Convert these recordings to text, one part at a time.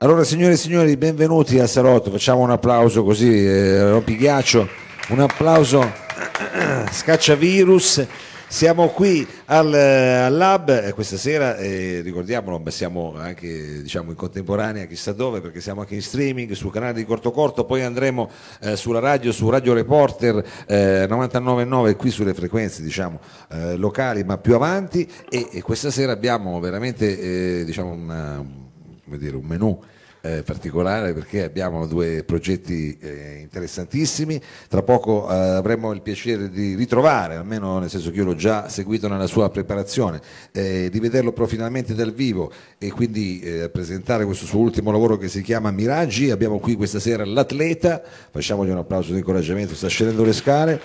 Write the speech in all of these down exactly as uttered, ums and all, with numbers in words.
Allora, signore e signori, benvenuti a Salotto. Facciamo un applauso così, eh, rompighiaccio, un applauso scacciavirus. Siamo qui al, al Lab eh, questa sera, eh, ricordiamolo, ma siamo anche diciamo in contemporanea chissà dove, perché siamo anche in streaming sul canale di Corto Corto, poi andremo eh, sulla radio, su Radio Reporter eh, novantanove virgola nove qui sulle frequenze diciamo eh, locali, ma più avanti, e, e questa sera abbiamo veramente eh, diciamo una, come dire, un menù Eh, particolare, perché abbiamo due progetti eh, interessantissimi. Tra poco eh, avremo il piacere di ritrovare, almeno nel senso che io l'ho già seguito nella sua preparazione, eh, di vederlo però finalmente dal vivo e quindi eh, presentare questo suo ultimo lavoro che si chiama Miraggi. Abbiamo qui questa sera l'atleta, facciamogli un applauso di incoraggiamento, sta scendendo le scale.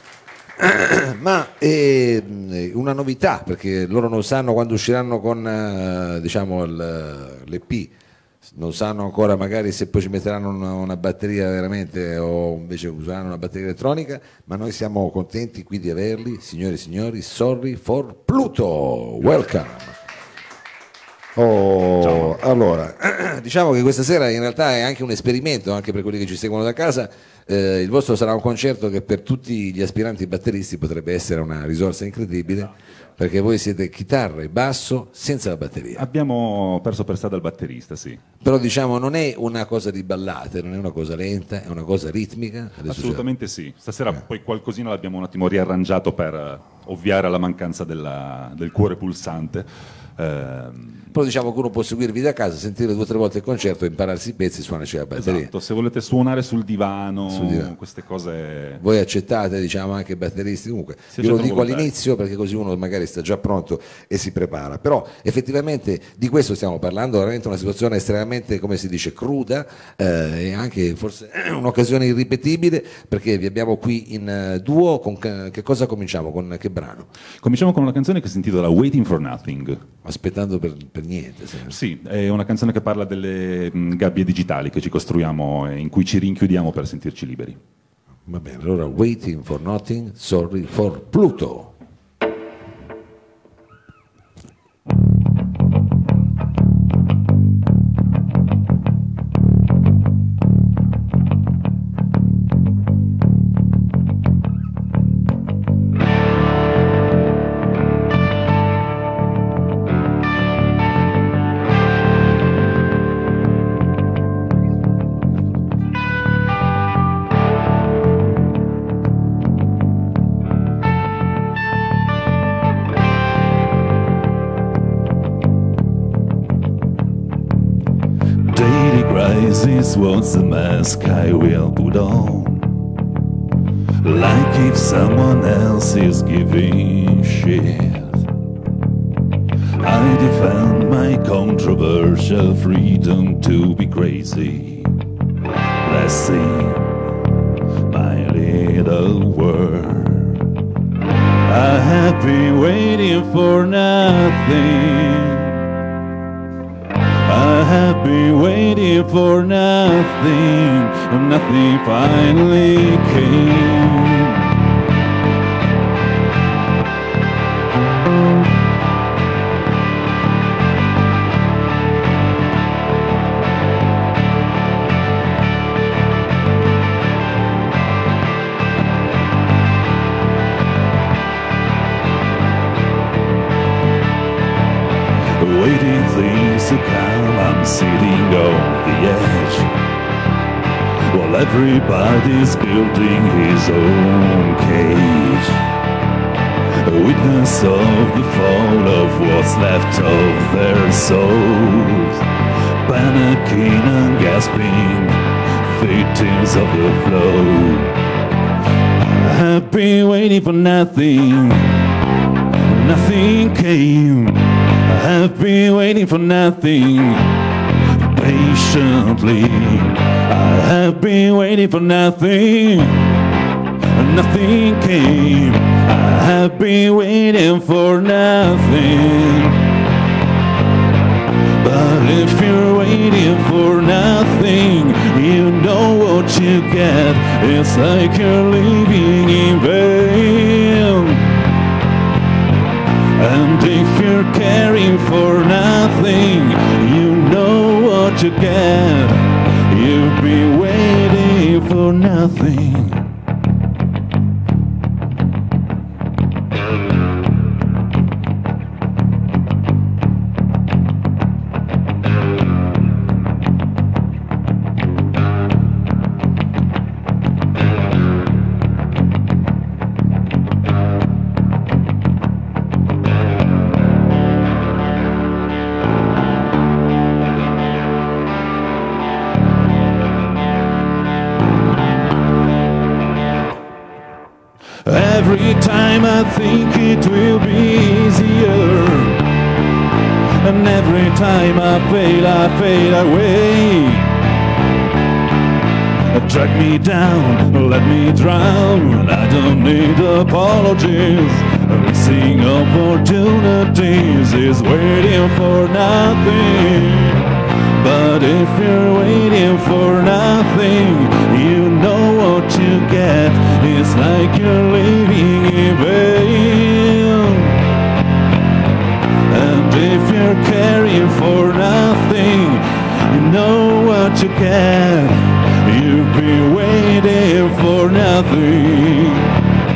Ma è una novità, perché loro non sanno quando usciranno con eh, diciamo l'E P, non sanno ancora magari se poi ci metteranno una, una batteria veramente o invece useranno una batteria elettronica, ma noi siamo contenti qui di averli, signore e signori. Sorry for Pluto, welcome. Oh, allora, diciamo che questa sera in realtà è anche un esperimento, anche per quelli che ci seguono da casa. Eh, il vostro sarà un concerto che per tutti gli aspiranti batteristi potrebbe essere una risorsa incredibile, perché voi siete chitarra e basso senza la batteria. Abbiamo perso per strada il batterista, sì. Però diciamo non è una cosa di ballate, non è una cosa lenta, è una cosa ritmica. Adesso assolutamente c'è... sì. Stasera eh. poi qualcosina l'abbiamo un attimo riarrangiato per ovviare alla mancanza della, del cuore pulsante. Eh... Però diciamo che uno può seguirvi da casa, sentire due o tre volte il concerto, impararsi i pezzi, suonarci la batteria. Esatto, se volete suonare sul divano, sul divano, queste cose... Voi accettate, diciamo, anche batteristi, comunque si io lo dico volontari. all'inizio perché così uno magari sta già pronto e si prepara. Però effettivamente di questo stiamo parlando, veramente una situazione estremamente, come si dice, cruda, eh, e anche forse un'occasione irripetibile, perché vi abbiamo qui in uh, duo. Con che cosa cominciamo? Con che brano? Cominciamo con una canzone che si intitola Waiting for Nothing. Aspettando per, per niente. Sempre. Sì, è una canzone che parla delle mh, gabbie digitali che ci costruiamo e in cui ci rinchiudiamo per sentirci liberi. Va bene, allora Waiting for Nothing, Sorry for Pluto. This was the mask I will put on, like if someone else is giving shit. I defend my controversial freedom to be crazy. Let's sing my little word. I have been waiting for nothing. I have been waiting for nothing, and nothing finally came. Waiting things to come, I'm sitting on the edge, while everybody's building his own cage. A witness of the fall of what's left of their souls, panicking and gasping, victims of the flow. I have been waiting for nothing, nothing came. I have been waiting for nothing patiently. I have been waiting for nothing, nothing came. I have been waiting for nothing. But if you're waiting for nothing, you know what you get. It's like you're living in vain. And if you're caring for nothing, you know what what you get. You've been waiting for nothing. Every time I think it will be easier, and every time I fail, I fade away. Drag me down, let me drown, I don't need apologies. Missing opportunities is waiting for nothing. But if you're waiting for nothing, you know what you get. It's like you're living in vain. And if you're caring for nothing, you know what you get. You've been waiting for nothing.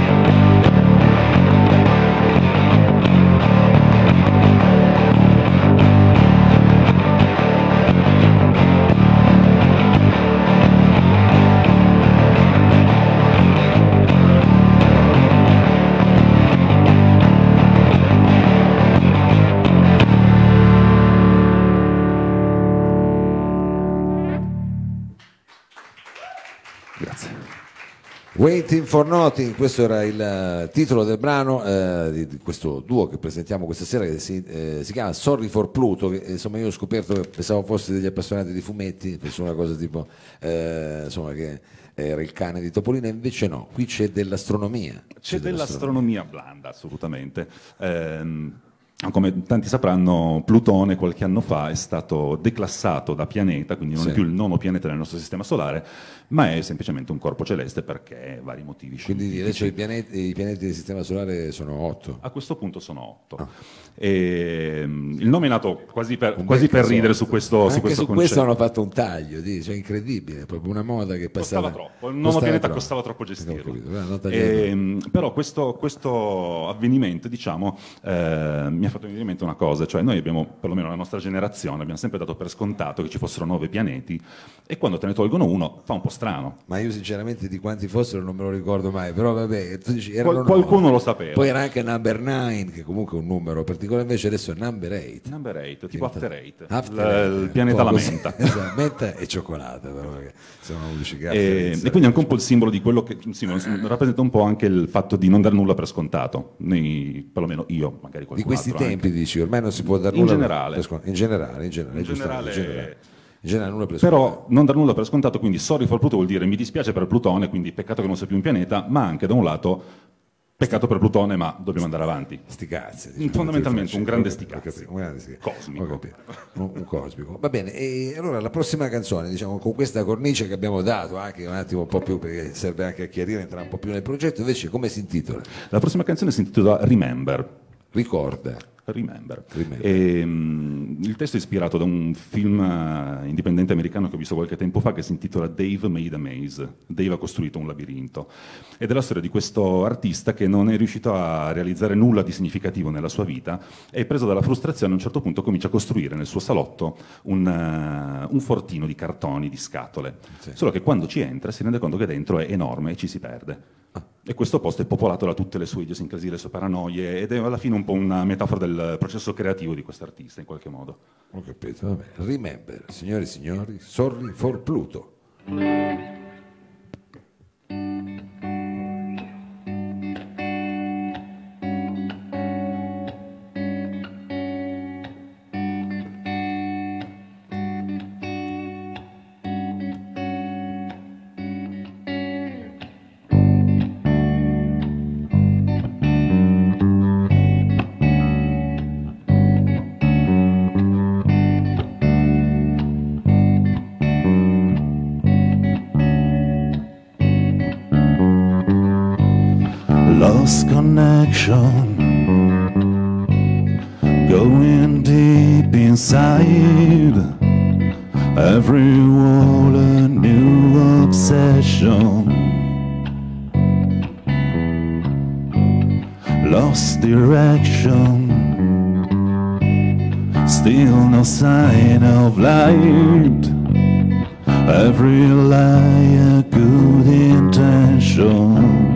Waiting for Nothing, questo era il titolo del brano eh, di, di questo duo che presentiamo questa sera, che si, eh, si chiama Sorry for Pluto, che insomma io ho scoperto che pensavo fosse degli appassionati di fumetti, penso una cosa tipo eh, insomma che era il cane di Topolino, invece no, qui c'è dell'astronomia. C'è, c'è dell'astronomia blanda, assolutamente. Ehm, come tanti sapranno, Plutone qualche anno fa è stato declassato da pianeta, quindi non sì. è più il nono pianeta del nostro sistema solare, ma è semplicemente un corpo celeste perché vari motivi quindi scientifici. adesso i pianeti, i pianeti del sistema solare sono otto. A questo punto sono otto. Ah. E, um, il nome è nato quasi per, quasi per ridere su questo, Anche su questo su concetto. questo hanno fatto un taglio, di, cioè incredibile, è proprio una moda che passava. Costava troppo, il nono pianeta costava troppo gestirlo. E, però questo, questo avvenimento, diciamo, eh, mi ha fatto venire in mente una cosa, cioè noi abbiamo, perlomeno la nostra generazione, abbiamo sempre dato per scontato che ci fossero nove pianeti e quando te ne tolgono uno fa un po' strano. Ma io sinceramente di quanti fossero non me lo ricordo mai, però vabbè, tu dici, erano Qual- qualcuno nove. lo sapeva. Poi era anche number nine, che comunque è un numero particolare, invece adesso è number eight. Number eight, tipo After Eight, After il, eight, il pianeta un po' la così. menta. Esatto, menta e cioccolata, però, perché sono lucicati. E, e quindi è anche un po' il simbolo di quello che sì, rappresenta un po' anche il fatto di non dar nulla per scontato. Noi, perlomeno io, magari qualcun di questi altro tempi anche. dici, ormai non si può dar In nulla generale. per scontato. In generale, in generale, In giustamente, generale- in generale. In generale nulla per scontato. Però non dar nulla per scontato, quindi sorry for Pluto vuol dire mi dispiace per Plutone, quindi peccato che non sia più un pianeta, ma anche da un lato peccato per Plutone, ma dobbiamo andare avanti. Sti cazzi, Fondamentalmente un grande sti Ho cazzi. capito, un grande sti cazzi. Cosmico. Ho capito. Un, un cosmico. Va bene, e allora la prossima canzone, diciamo, con questa cornice che abbiamo dato, anche un attimo un po' più, perché serve anche a chiarire, entrare un po' più nel progetto, invece come si intitola? La prossima canzone si intitola Remember. Ricorda. Remember. Remember. E, um, il testo è ispirato da un film uh, indipendente americano che ho visto qualche tempo fa che si intitola Dave Made a Maze. Dave ha costruito un labirinto. Ed è la storia di questo artista che non è riuscito a realizzare nulla di significativo nella sua vita e preso dalla frustrazione a un certo punto comincia a costruire nel suo salotto un, uh, un fortino di cartoni, di scatole. Sì. Solo che quando ci entra si rende conto che dentro è enorme e ci si perde. E questo posto è popolato da tutte le sue idiosincrasie, le sue paranoie, ed è alla fine un po' una metafora del processo creativo di quest'artista, in qualche modo. Ho capito, vabbè. Remember, signori e signori, Sorry for Pluto. Lost connection, going deep inside. Every wall a new obsession. Lost direction. Still no sign of light. Every lie a good intention.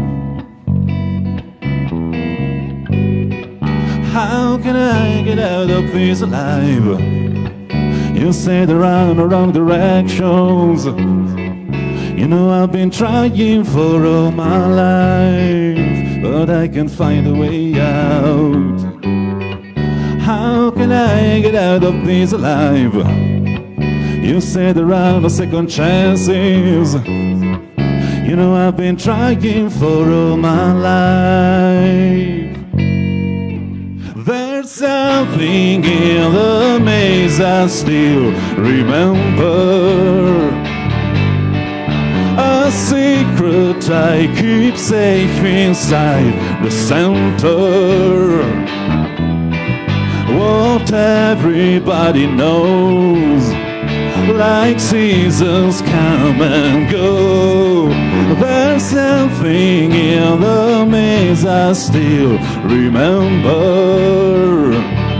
How can I get out of this alive? You say the wrong, the wrong directions. You know I've been trying for all my life, but I can't find a way out. How can I get out of this alive? You say the wrong, the second chances. You know I've been trying for all my life. There's something in the maze I still remember. A secret I keep safe inside the center. What everybody knows, like seasons come and go. There's something in the maze I still remember.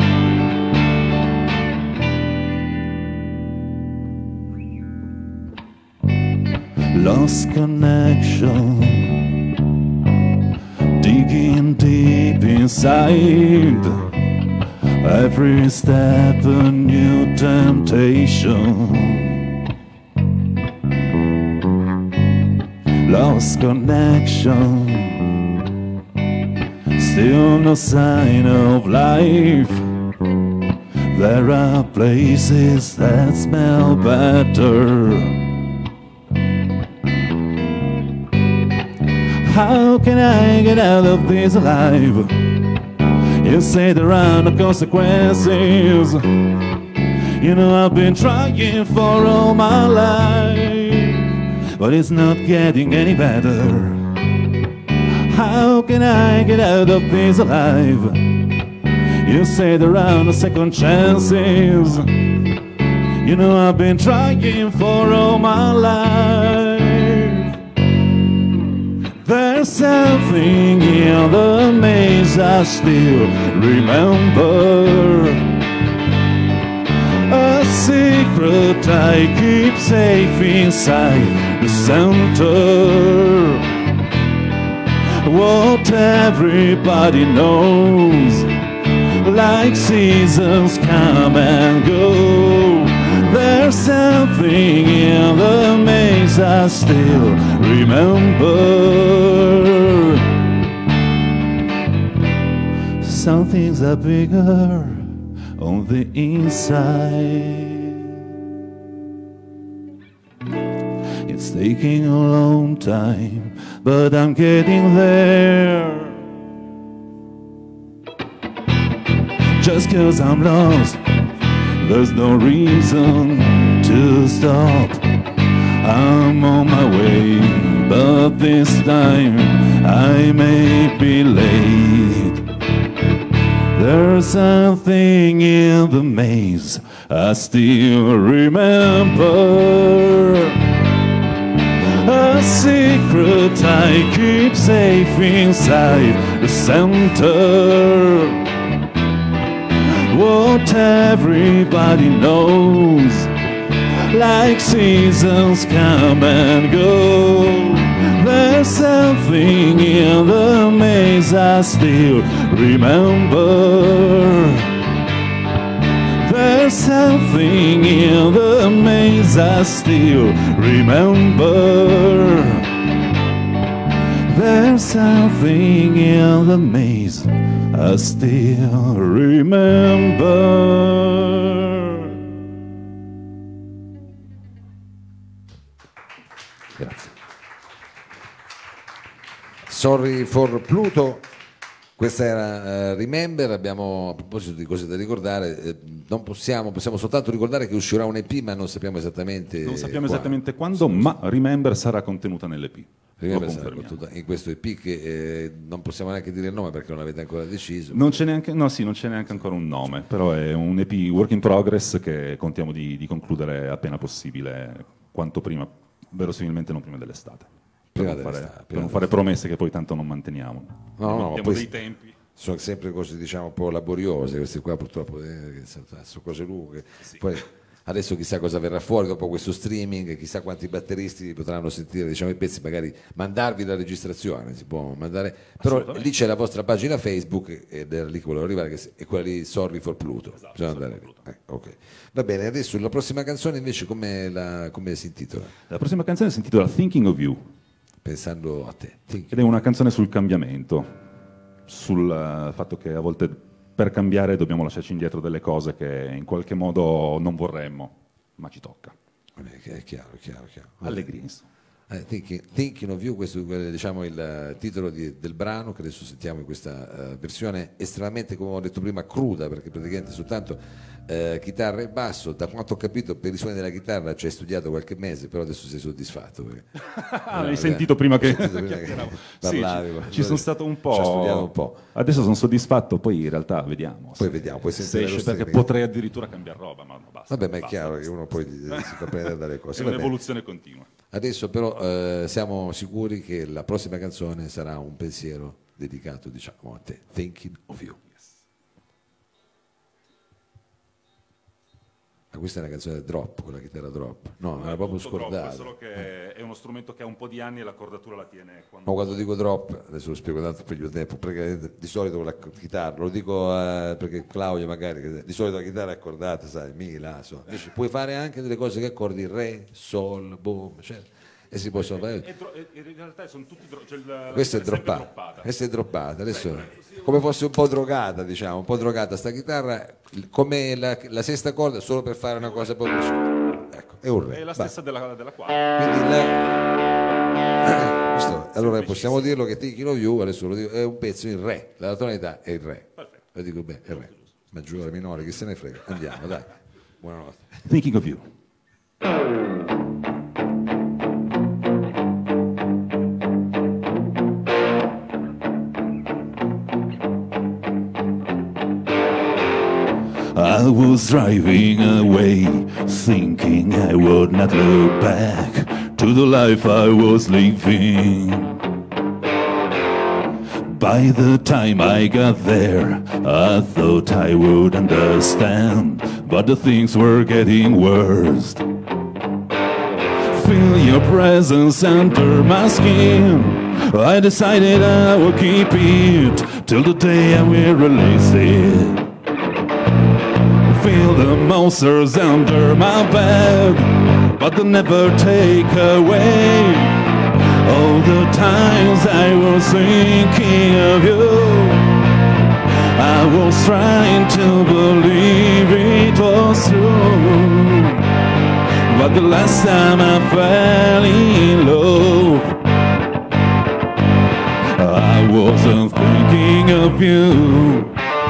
Lost connection, digging deep inside. Every step a new temptation. Lost connection, still no sign of life. There are places that smell better. How can I get out of this alive? You say there are no consequences. You know I've been trying for all my life, but it's not getting any better. How can I get out of this alive? You say there are no second chances. You know I've been trying for all my life. There's something in the maze I still remember. A secret I keep safe inside the center. What everybody knows, like seasons come and go. There's something in the maze I still remember. Some things are bigger on the inside. It's taking a long time, but I'm getting there. Just 'cause I'm lost, there's no reason to stop. I'm on my way, but this time I may be late. There's something in the maze I still remember. A secret I keep safe inside the center. What everybody knows, like seasons come and go. There's something in the maze I still remember. There's something in the maze I still remember. There's something in the maze I still remember. Grazie. Sorry for Pluto. Questa era uh, Remember. Abbiamo, a proposito di cose da ricordare, eh, non possiamo, possiamo soltanto ricordare che uscirà un E P, ma non sappiamo esattamente Non sappiamo quando. esattamente quando, ma Remember sarà contenuta nell'E P. Prima Lo persona confermiamo. battuta in questo E P che eh, non possiamo neanche dire il nome perché non avete ancora deciso. Non c'è neanche, no, sì, non c'è neanche ancora un nome, però è un E P work in progress che contiamo di, di concludere appena possibile, quanto prima, verosimilmente non prima dell'estate. Per Prima non fare, dell'estate, per prima non fare promesse che poi tanto non manteniamo. No, no, Abbiamo ma poi- dei tempi. Sono sempre cose diciamo un po' laboriose, queste qua purtroppo eh, che sono, sono cose lunghe. Poi adesso chissà cosa verrà fuori dopo questo streaming, chissà quanti batteristi potranno sentire diciamo, i pezzi, magari mandarvi la registrazione, si può mandare, però Assolutamente. lì c'è la vostra pagina Facebook ed era lì che volevo arrivare, che è quella lì Sorry for Pluto. Esatto, Bisogna Sorry andare for lì. Eh, ok. Va bene, adesso la prossima canzone invece come, la, come si intitola? La prossima canzone si intitola Thinking of You Pensando a te. Think- ed è una canzone sul cambiamento, sul eh, fatto che a volte per cambiare dobbiamo lasciarci indietro delle cose che in qualche modo non vorremmo, ma ci tocca. Vabbè, che è chiaro, è chiaro, è chiaro. Allegria, insomma. Eh, thinking, Thinking of You, questo è diciamo, il eh, titolo di- del brano che adesso sentiamo in questa eh, versione estremamente, come ho detto prima, cruda, perché praticamente soltanto eh, chitarra e basso. Da quanto ho capito, per i suoni della chitarra ci hai studiato qualche mese, però adesso sei soddisfatto. Perché... Ah, l'hai sentito prima che, Ho sentito prima che chiacchieravo. parlavi, Sì, ci, ci sono stato un po'. Ci ho studiato un po'. Adesso sono soddisfatto, poi in realtà vediamo. Poi se- vediamo, poi se sentire esce, lo perché streaming. potrei addirittura cambiare roba, ma basta. Vabbè, ma è basta, chiaro basta. che uno poi eh, si fa prendere dalle cose. È Va bene. un'evoluzione continua. Adesso però eh, siamo sicuri che la prossima canzone sarà un pensiero dedicato diciamo a te, Thinking of You. Ma questa è una canzone drop, con la chitarra drop. No, non era proprio Tutto drop, scordato. solo che è uno strumento che ha un po' di anni e la cordatura la tiene quando... Ma quando dico drop, adesso lo spiego tanto per il tempo, perché di solito con la chitarra, lo dico eh, perché Claudio magari, che di solito la chitarra è accordata, sai, mi, la, so. Invece puoi fare anche delle cose che accordi re, sol, boom, cioè, e si possono fare. E dro- e- in realtà sono tutti dro- cioè la- Questa è sempre droppata, droppata. questa è droppata, adesso come fosse un po' drogata, diciamo, un po' drogata sta chitarra, come la, la sesta corda solo per fare una cosa proprio ecco, è un re. È la va. stessa della, della quarta. Quindi la- questo- allora possiamo dirlo che Thinking of You, adesso lo dico, è un pezzo in re, la tonalità è il re. Perfetto. Lo dico bene, è il re. Maggiore, minore, chi se ne frega. Andiamo, dai. Buonanotte. Thinking of You. I was driving away, thinking I would not look back to the life I was living. By the time I got there, I thought I would understand, but the things were getting worse. Feel your presence under my skin. I decided I will keep it till the day I will release it. Feel the monsters under my bed, but they'll never take away all the times I was thinking of you. I was trying to believe it was true, but the last time I fell in love, I wasn't thinking of you.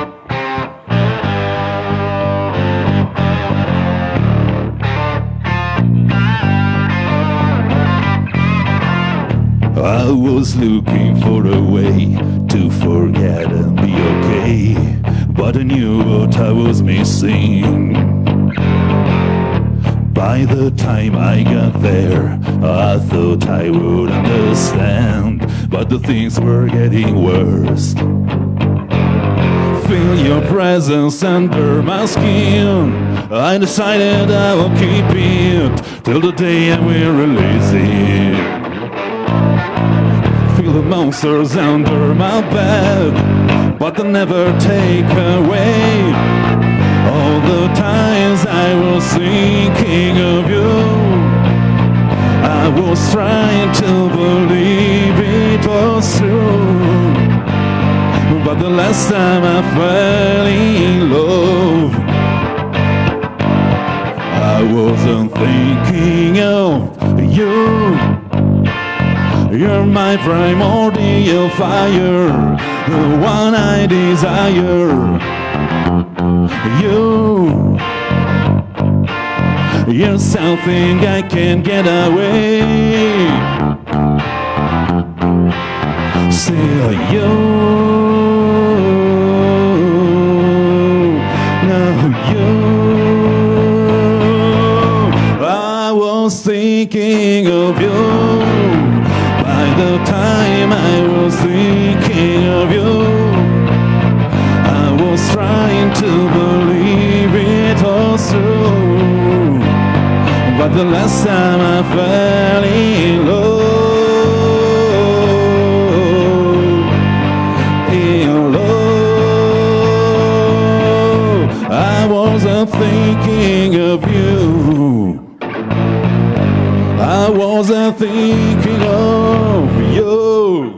I was looking for a way to forget and be okay, but I knew what I was missing. By the time I got there, I thought I would understand, but the things were getting worse. Feel your presence under my skin. I decided I will keep it till the day I will release it. Feel the monsters under my bed, but they'll never take away all the times I was thinking of you. I was trying to believe it was true, but the last time I fell in love, I wasn't thinking of you. You're my primordial fire, the one I desire. You, you're something I can't get away. still you. Now you. I was thinking of you. By the time I was thinking of you, I was trying to believe it was true. But the last time I fell in love, in love, I wasn't thinking of you. I wasn't thinking of you.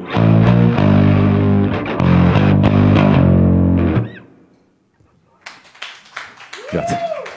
Grazie.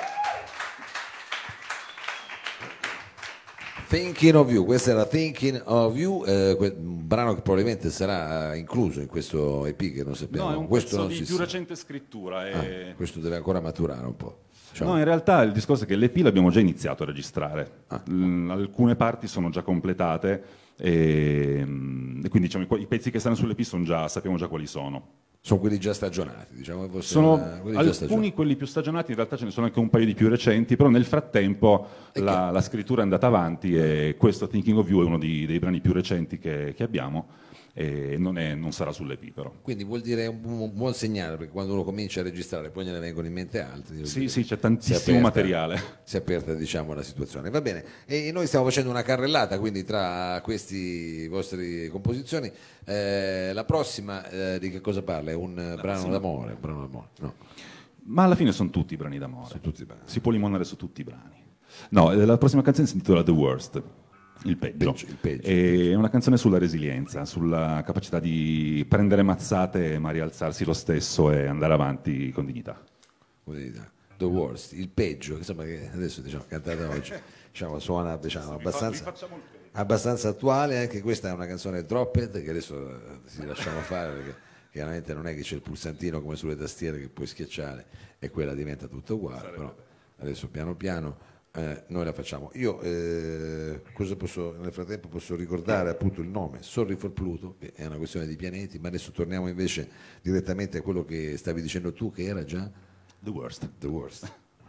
Thinking of You, questa era Thinking of You, eh, que- un brano che probabilmente sarà incluso in questo E P che non sappiamo. No, è un questo pezzo non di si più sa. recente scrittura. E... Ah, questo deve ancora maturare un po'. Diciamo. No, in realtà il discorso è che l'E P l'abbiamo già iniziato a registrare. Ah. L- alcune parti sono già completate e, e quindi diciamo, i, i pezzi che stanno sull'E P sono già, sappiamo già quali sono. Sono quelli già stagionati, diciamo. Forse Sono una- quelli già alcuni stagionati. quelli più stagionati, in realtà ce ne sono anche un paio di più recenti, però nel frattempo E la, la scrittura è andata avanti e questo Thinking of You è uno di- dei brani più recenti che, che abbiamo e non, è- non sarà sull'E P però. Quindi vuol dire un, un buon segnale, perché quando uno comincia a registrare poi gliene vengono in mente altri. vuol Sì, dire, sì, c'è si è tantissimo aperta- materiale. Si è aperta, diciamo, la situazione. Va bene, e noi stiamo facendo una carrellata, quindi tra queste vostre composizioni. Eh, la prossima eh, di che cosa parla? È un eh, brano d'amore, un brano d'amore, no? Ma alla fine sono tutti brani d'amore. Sono tutti brani. Si può limonare su tutti i brani. No, eh, la prossima canzone si intitola The Worst, il peggio. Peggio, il peggio, E è una canzone sulla resilienza, sulla capacità di prendere mazzate ma rialzarsi lo stesso e andare avanti con dignità. Come dite? The Worst, il peggio, insomma, che adesso diciamo cantata oggi, diciamo, suona diciamo, abbastanza, abbastanza attuale. Anche questa è una canzone Dropped che adesso eh, si lasciamo fare, perché chiaramente non è che c'è il pulsantino come sulle tastiere che puoi schiacciare e quella diventa tutto uguale, però adesso piano piano eh, noi la facciamo. Io eh, cosa posso, nel frattempo posso ricordare appunto il nome Sorry for Pluto, che è una questione di pianeti, ma adesso torniamo invece direttamente a quello che stavi dicendo tu, che era già The Worst. The Worst.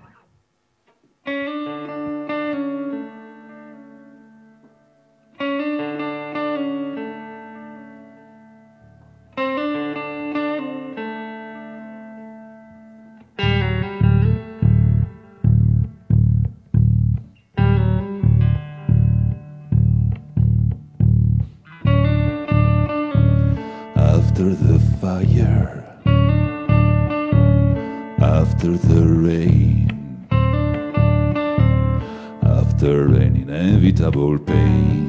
After the fire, after the rain, after an inevitable pain,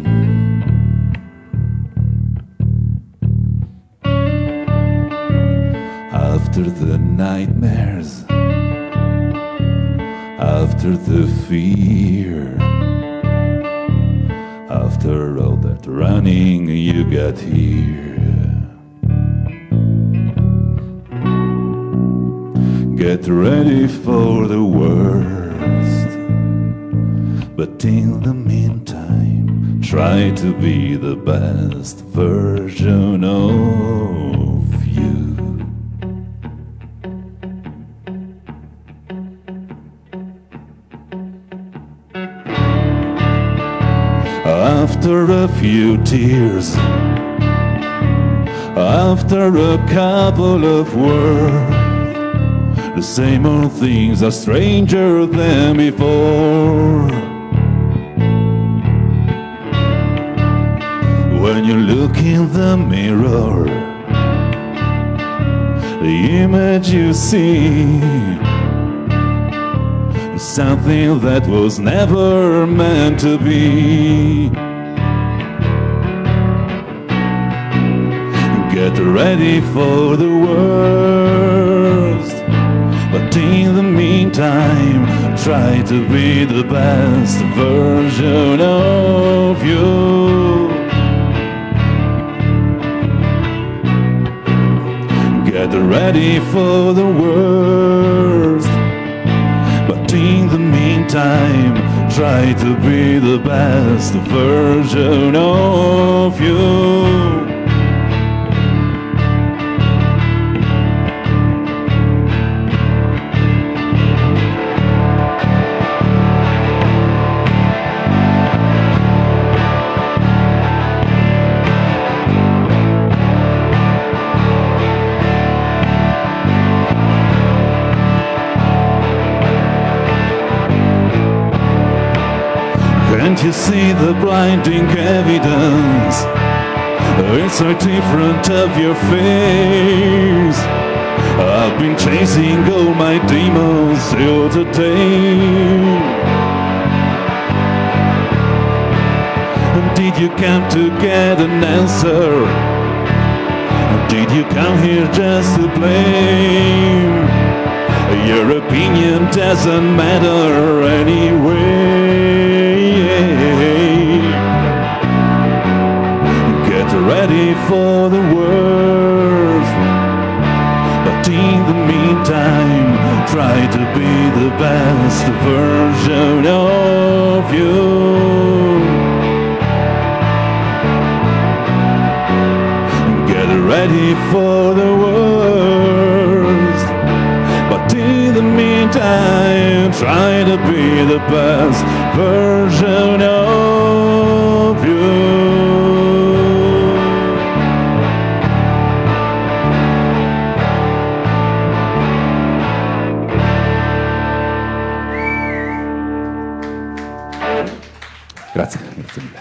after the nightmares, after the fear, after all that running you got here. Get ready for the worst, but in the meantime, try to be the best version of you. After a few tears, after a couple of words, the same old things are stranger than before. When you look in the mirror, the image you see is something that was never meant to be. Get ready for the worst, but in the meantime, try to be the best version of you. Get ready for the worst, but in the meantime, try to be the best version of you. Can't you see the blinding evidence? It's so different of your face. I've been chasing all my demons till today. Did you come to get an answer? Did you come here just to blame? Your opinion doesn't matter anyway. Get ready for the worst, but in the meantime, try to be the best version of you. Get ready for the worst, but in the meantime, try to be the best version of you. Grazie, grazie mille.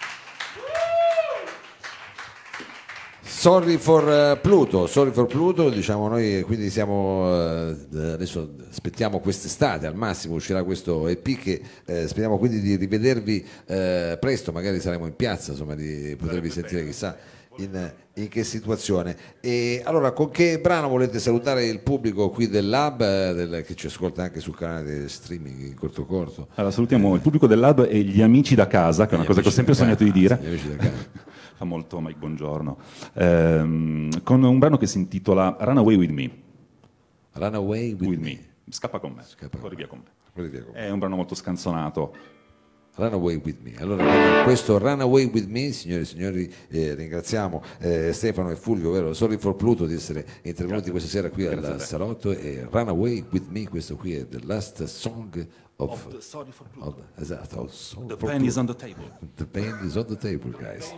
Sorry for eh, Pluto, Sorry for Pluto, diciamo noi, quindi siamo eh, adesso aspettiamo quest'estate, al massimo uscirà questo E P che eh, speriamo quindi di rivedervi eh, presto, magari saremo in piazza, insomma, di potervi sentire chissà in, in che situazione. E allora, con che brano volete salutare il pubblico qui del Lab, eh, del, che ci ascolta anche sul canale di streaming in corto corto? Allora, salutiamo il pubblico del Lab e gli amici da casa, che è una Gli cosa che ho amici sempre da sognato di casa, dire. gli amici da casa. Fa molto Mike Buongiorno. Ehm, con un brano che si intitola Run Away With Me. Run Away With, With me. me. Scappa con me. Scappa Corri con via con me. Corri via con me. È un brano molto scanzonato. Run Away With Me. Allora, con questo Run Away With Me, signori e signori, eh, ringraziamo eh, Stefano e Fulvio, vero? Sorry for Pluto, di essere intervenuti questa sera qui al salotto, e Run Away With Me, questo qui è The Last Song of, Of the Sorry for Pluto. of- esatto, of Song The for pen is Pluto. on the table. The pen is on the table, guys.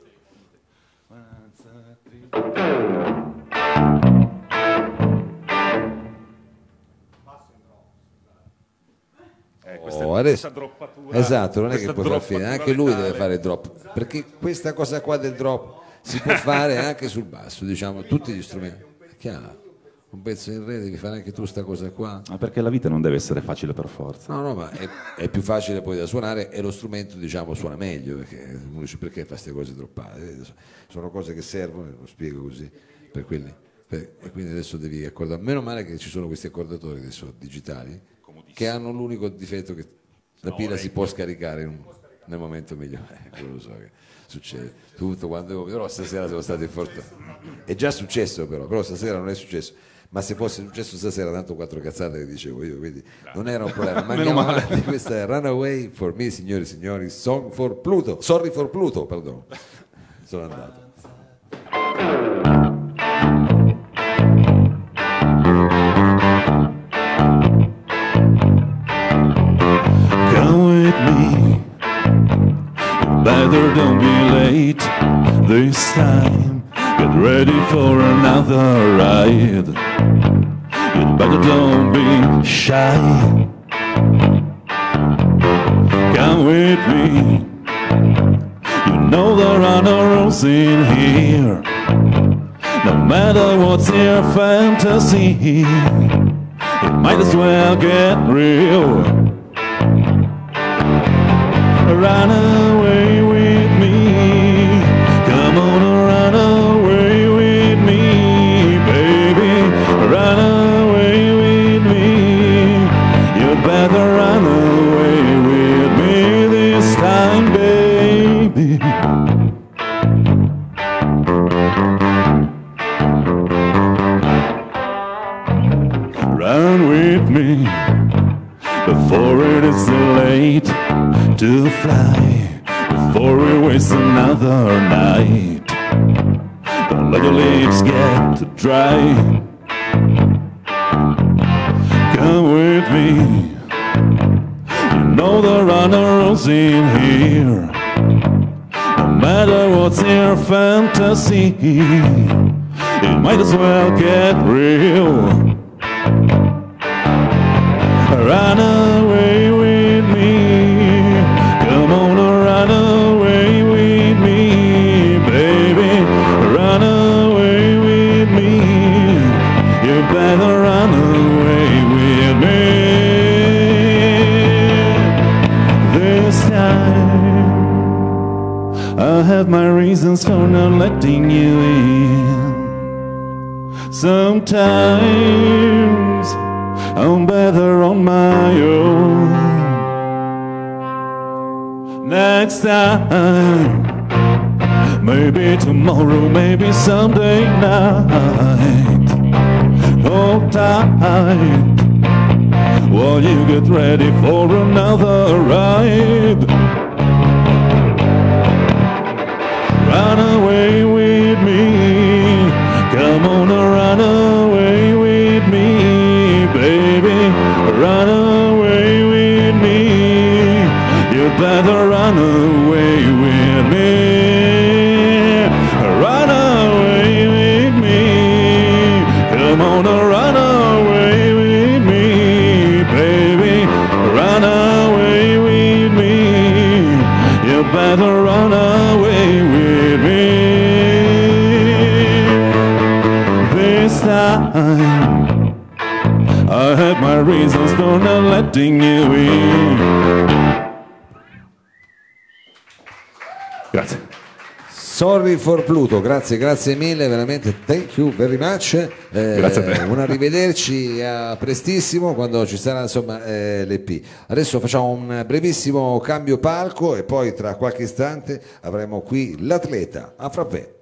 Eh, questa, Oh, adesso- questa droppatura. Esatto, non è che questa puoi far fine, droppatura anche lui letale. deve fare il drop, perché questa cosa qua del drop si può fare anche sul basso, diciamo, tutti gli strumenti. È chiaro, un pezzo in re devi fare anche tu sta cosa qua. Ma perché la vita non deve essere facile per forza. No, no, ma è, è più facile poi da suonare e lo strumento, diciamo, suona meglio, perché uno dice perché fa queste cose droppate? Eh, sono cose che servono, lo spiego così, per quelli. per- e quindi adesso devi accordare. Meno male che ci sono questi accordatori adesso digitali che hanno l'unico difetto che la pila si può scaricare in un- nel momento migliore. Eh, quello lo so che succede tutto quando, però stasera siamo stati fortunati. È già successo però, però stasera non è successo. Ma se fosse successo stasera, tanto quattro cazzate che dicevo io, quindi non era un problema. Ma andiamo avanti, questa è Runaway for Me, signori e signori, Song for Pluto, Sorry for Pluto, perdono, sono andato. Come with me, better don't be late this time. Get ready for another ride. You better don't be shy. Come with me. You know there are no rules in here. No matter what's your fantasy, it might as well get real. Run away with me. Come on, run away with me, baby. Run away with me. You'd better run away with me this time, baby. Run with me before it is too late to fly, before we waste another night. Don't let your lips get too dry. Come with me. You know there are no rules in here. No matter what's your fantasy, it might as well get real. Run away with me. Come have my reasons for not letting you in. Sometimes I'm better on my own. Next time, maybe tomorrow, maybe someday night. Hold tight while you get ready for another ride. Run away with me, come on, run away with me, baby, run away with me, you better run away with me, run away with me, come on, run away with me, baby, run away with me, you better run away with me. This time I had my reasons for not letting you in. Grazie. Sorry for Pluto, grazie, grazie mille, veramente thank you very much. Eh, Grazie a te. Un arrivederci a prestissimo quando ci sarà insomma eh, l'E P. Adesso facciamo un brevissimo cambio palco e poi tra qualche istante avremo qui l'atleta. A frappè.